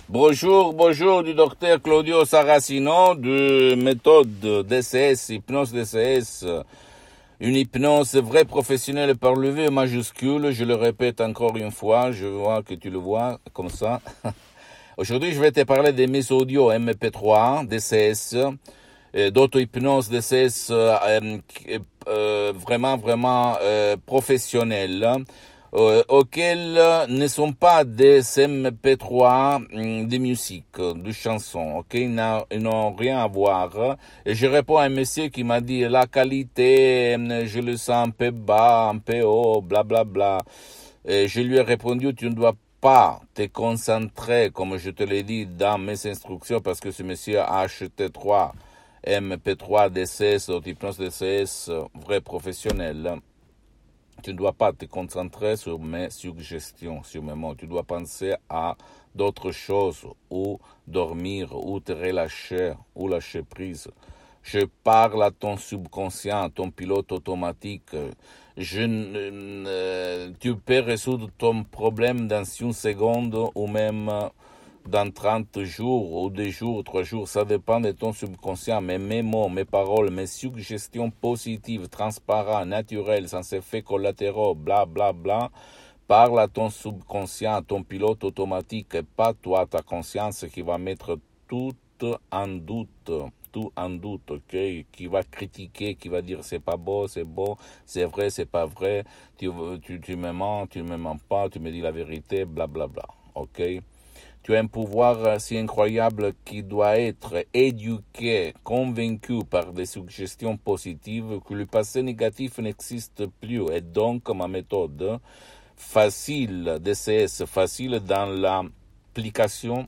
Bonjour, bonjour du docteur Claudio Saracino de méthode DCS, hypnose DCS, une hypnose vraie professionnelle par le V majuscule, je le répète encore une fois, je vois que tu le vois comme ça. Aujourd'hui, je vais te parler de mes audios MP3 DCS, d'auto-hypnose DCS vraiment professionnelle. Auxquels ne sont pas des MP3 de musique, de chansons, ok? Ils n'ont rien à voir. Et je réponds à un monsieur qui m'a dit la qualité, je le sens un peu bas, un peu haut, bla bla bla. Et je lui ai répondu, tu ne dois pas te concentrer, comme je te l'ai dit dans mes instructions, parce que ce monsieur a acheté 3 MP3 DCS, hypnose DCS, vrai professionnel. Tu ne dois pas te concentrer sur mes suggestions, sur mes mots. Tu dois penser à d'autres choses, ou dormir, ou te relâcher, ou lâcher prise. Je parle à ton subconscient, à ton pilote automatique. Tu peux résoudre ton problème dans une seconde ou même dans 30 jours ou 2 jours, 3 jours, ça dépend de ton subconscient, mais mes mots, mes paroles, mes suggestions positives, transparentes, naturelles, sans effets collatéraux, bla bla bla, parle à ton subconscient, à ton pilote automatique, et pas toi, ta conscience qui va mettre tout en doute, ok, qui va critiquer, qui va dire c'est pas beau, c'est beau, c'est vrai, c'est pas vrai, tu me mens, tu me mens pas, tu me dis la vérité, bla bla bla, ok. Tu as un pouvoir si incroyable qui doit être éduqué, convaincu par des suggestions positives que le passé négatif n'existe plus. Et donc, ma méthode facile DCS, facile dans l'application,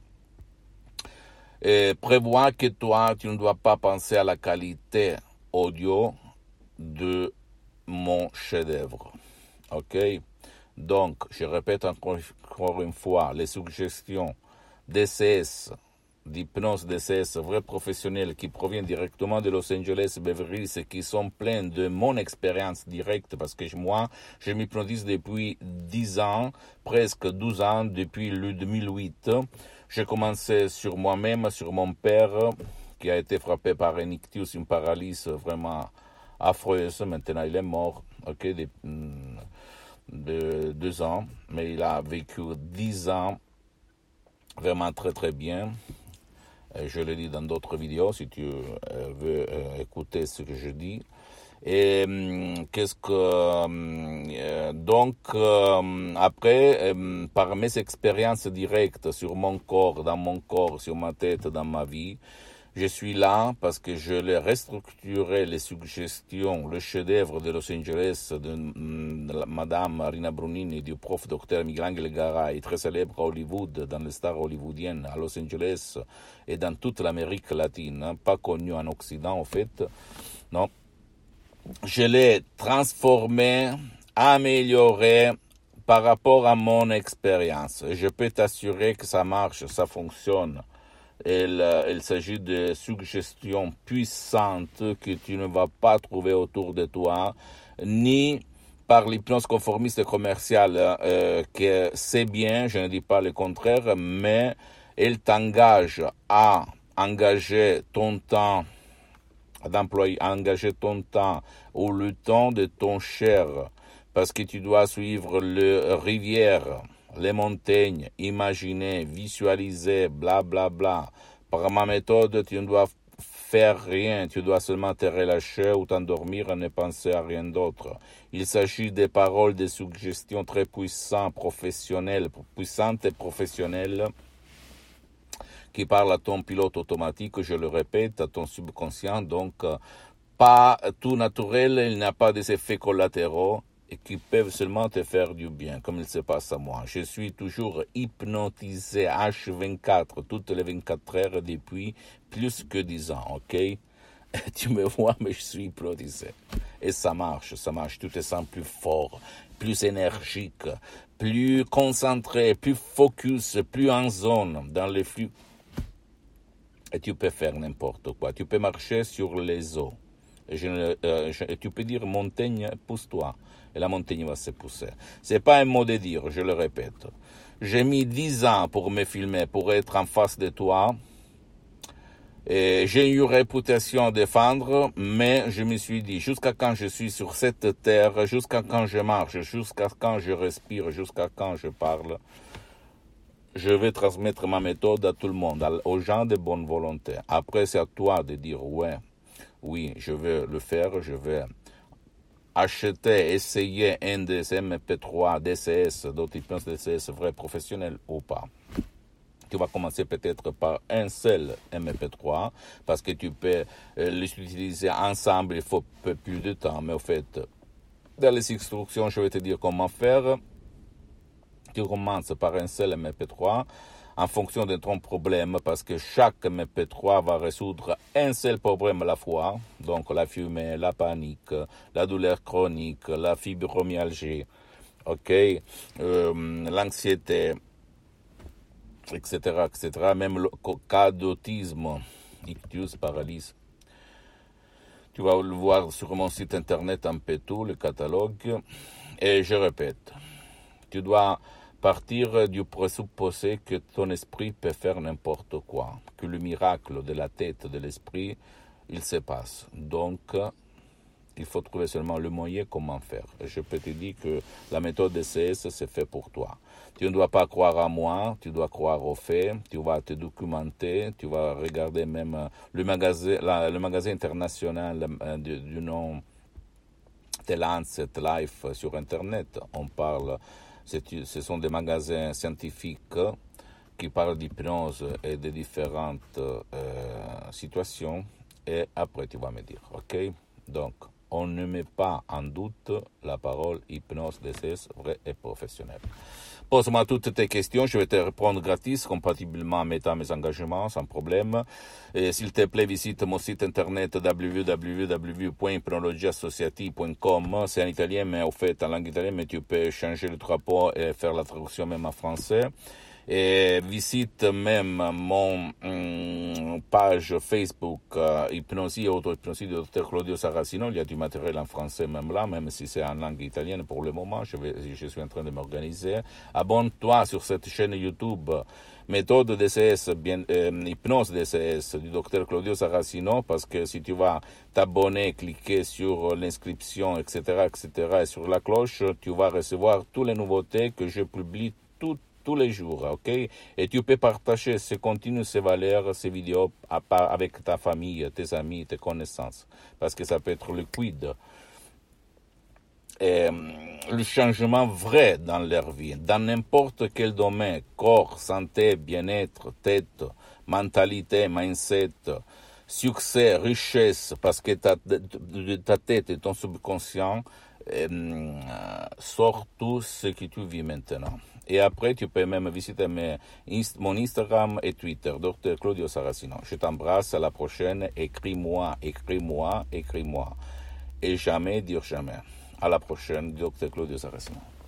prévoit que toi, tu ne dois pas penser à la qualité audio de mon chef-d'œuvre. OK? Donc, je répète encore une fois, les suggestions DCS, d'hypnose DCS, vrais professionnels qui proviennent directement de Los Angeles, Beverly Hills, et qui sont pleins de mon expérience directe, parce que moi, je m'hypnotise depuis 10 ans, presque 12 ans, depuis le 2008. J'ai commencé sur moi-même, sur mon père, qui a été frappé par un ictus, une paralysie vraiment affreuse. Maintenant, il est mort, ok, de 2 ans, mais il a vécu 10 ans vraiment très très bien. Je le dis dans d'autres vidéos si tu veux écouter ce que je dis. Et après, par mes expériences directes sur mon corps, dans mon corps, sur ma tête, dans ma vie, je suis là parce que je l'ai restructuré, les suggestions, le chef-d'œuvre de Los Angeles de Madame Marina Brunini et du prof Dr Miguel Garay, très célèbre à Hollywood, dans les stars hollywoodiennes, à Los Angeles et dans toute l'Amérique latine, pas connu en Occident en fait, non. Je l'ai transformé, amélioré par rapport à mon expérience. Je peux t'assurer que ça marche, ça fonctionne. Il s'agit de suggestions puissantes que tu ne vas pas trouver autour de toi, ni par l'hypnose conformiste commerciale, que c'est bien, je ne dis pas le contraire, mais elle t'engage à engager ton temps, à engager ton temps ou le temps de ton cher, parce que tu dois suivre les rivières, les montagnes, imaginer, visualiser, bla bla bla. Par ma méthode, tu ne dois faire rien, tu dois seulement te relâcher ou t'endormir et ne penser à rien d'autre. Il s'agit des paroles, des suggestions très puissantes et professionnelles, qui parlent à ton pilote automatique, je le répète, à ton subconscient, donc pas tout naturel, il n'y a pas des effets collatéraux, et qui peuvent seulement te faire du bien, comme il se passe à moi. Je suis toujours hypnotisé H24, toutes les 24 heures depuis plus que 10 ans, ok? Tu me vois, mais je suis hypnotisé. Et ça marche. Tu te sens plus fort, plus énergique, plus concentré, plus focus, plus en zone dans les flux. Et tu peux faire n'importe quoi. Tu peux marcher sur les eaux. Et tu peux dire montagne, pousse-toi. Et la montagne va se pousser. C'est pas un mot de dire, je le répète. J'ai mis 10 ans pour me filmer, pour être en face de toi. Et j'ai une réputation à défendre, mais je me suis dit, jusqu'à quand je suis sur cette terre, jusqu'à quand je marche, jusqu'à quand je respire, jusqu'à quand je parle, je vais transmettre ma méthode à tout le monde, aux gens de bonne volonté. Après, c'est à toi de dire, ouais, oui, je vais le faire, je vais acheter, essayer un des MP3 DCS, d'hypnose DCS vrai professionnel ou pas. Tu vas commencer peut-être par un seul MP3 parce que tu peux les utiliser ensemble, il faut plus de temps. Mais au fait, dans les instructions, je vais te dire comment faire. Tu commences par un seul MP3 en fonction de ton problème parce que chaque MP3 va résoudre un seul problème à la fois. Donc la fumée, la panique, la douleur chronique, la fibromyalgie, l'anxiété, etc., etc., même le cas d'autisme, ictus, paralysie. Tu vas le voir sur mon site internet un peu tout, le catalogue. Et je répète, tu dois partir du présupposé que ton esprit peut faire n'importe quoi, que le miracle de la tête de l'esprit, il se passe. Donc, il faut trouver seulement le moyen comment faire. Et je peux te dire que la méthode DCS, c'est fait pour toi. Tu ne dois pas croire à moi, tu dois croire aux faits, tu vas te documenter, tu vas regarder même le magazine international du nom de Lancet Life sur Internet. On parle, ce sont des magasins scientifiques qui parlent d'hypnose et de différentes situations. Et après, tu vas me dire, ok? Donc, on ne met pas en doute la parole hypnose DCS vrai et professionnelle. Pose-moi toutes tes questions, je vais te répondre gratis, compatiblement en mettant mes engagements, sans problème. Et s'il te plaît, visite mon site internet www.hypnologieassociative.com. C'est en italien, mais au fait, en langue italienne, mais tu peux changer le drapeau et faire la traduction même en français. Et visite même mon page Facebook Hypnosie et auto-hypnosie de Dr Claudio Saracino. Il y a du matériel en français même là, même si c'est en langue italienne pour le moment. Je suis en train de m'organiser. Abonne-toi sur cette chaîne YouTube méthode DCS, hypnose DCS du Dr Claudio Saracino, parce que si tu vas t'abonner, cliquer sur l'inscription, etc., et sur la cloche, tu vas recevoir toutes les nouveautés que je publie tous les jours, ok? Et tu peux partager ces contenus, ces valeurs, ces vidéos avec ta famille, tes amis, tes connaissances, parce que ça peut être liquide. Et le changement vrai dans leur vie, dans n'importe quel domaine, corps, santé, bien-être, tête, mentalité, mindset, succès, richesse, parce que ta tête et ton subconscient sortent tout ce que tu vis maintenant. Et après, tu peux même visiter mon Instagram et Twitter, Dr Claudio Saracino. Je t'embrasse, à la prochaine. Écris-moi. Et jamais dire jamais. À la prochaine, Dr Claudio Saracino.